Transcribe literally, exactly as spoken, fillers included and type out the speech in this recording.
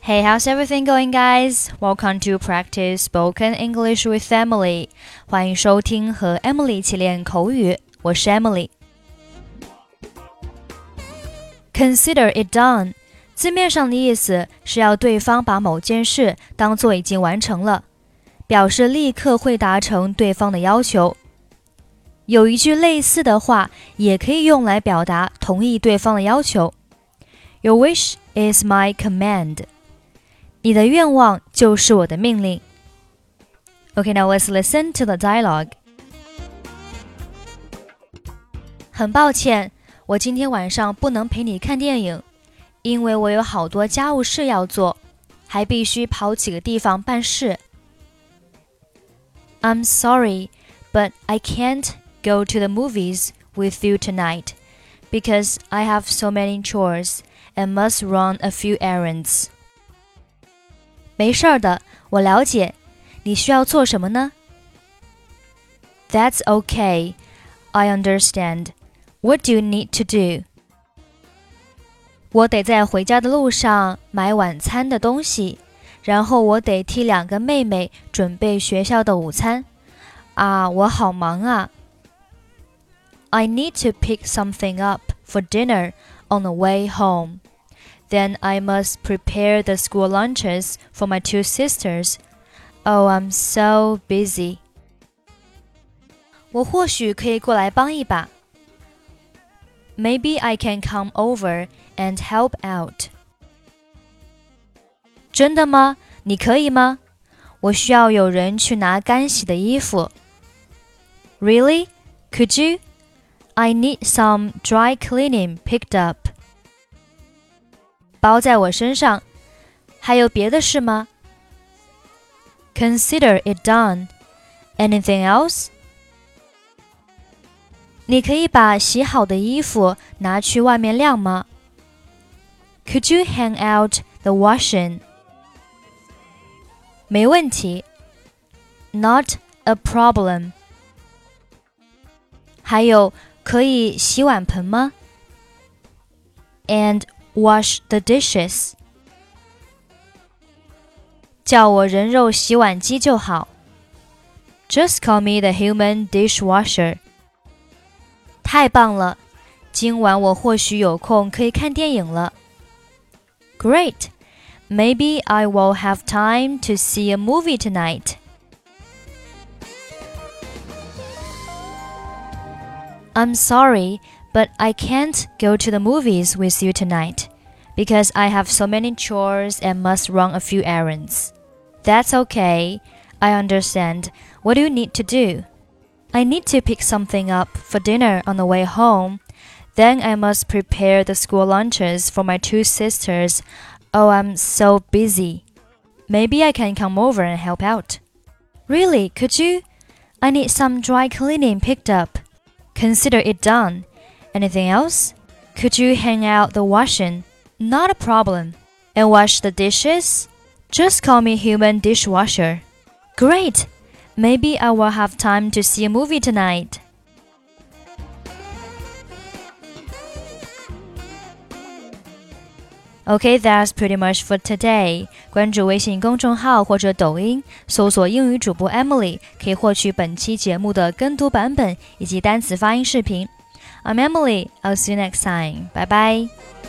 Hey, how's everything going, guys? Welcome to Practice Spoken English with Emily. 欢迎收听和 Emily 一起练口语，我是 Emily。Consider it done. 字面上的意思是要对方把某件事当作已经完成了，表示立刻会达成对方的要求。有一句类似的话也可以用来表达同意对方的要求。Your wish is my command. 你的愿望就是我的命令。Okay, now let's listen to the dialogue. 很抱歉，我今天晚上不能陪你看电影，因为我有好多家务事要做，还必须跑几个地方办事。I'm sorry, but I can't go to the movies with you tonight, because I have so many chores and must run a few errands. 没事的，我了解。你需要做什么呢？ That's okay. I understand. What do you need to do? 我得在回家的路上买晚餐的东西，然后我得替两个妹妹准备学校的午餐。啊，我好忙啊。I need to pick something up for dinner on the way home. Then I must prepare the school lunches for my two sisters. Oh, I'm so busy. 我或许可以过来帮一把。Maybe I can come over and help out. 真的吗？你可以吗？我需要有人去拿干洗的衣服。Really? Could you?I need some dry cleaning picked up. 包在我身上。还有别的事吗？ Consider it done. Anything else? 你可以把洗好的衣服拿去外面晾吗？ Could you hang out the washing? 没问题。Not a problem. 还有可以洗碗盆吗？ And wash the dishes. 叫我人肉洗碗机就好。Just call me the human dishwasher. 太棒了，今晚我或许有空可以看电影了。Great. Maybe I will have time to see a movie tonight.I'm sorry, but I can't go to the movies with you tonight, because I have so many chores and must run a few errands. That's okay. I understand. What do you need to do? I need to pick something up for dinner on the way home. Then I must prepare the school lunches for my two sisters. Oh, I'm so busy. Maybe I can come over and help out. Really, could you? I need some dry cleaning picked up.Consider it done. Anything else? Could you hang out the washing? Not a problem. And wash the dishes? Just call me human dishwasher. Great. Maybe I will have time to see a movie tonight. Okay, that's pretty much for today. 关注微信公众号或者抖音，搜索英语主播 Emily， 可以获取本期节目的跟读版本以及单词发音视频。I'm Emily, I'll see you next time. Bye bye.